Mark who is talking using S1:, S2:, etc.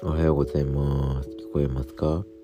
S1: おはようございます。聞こえますか？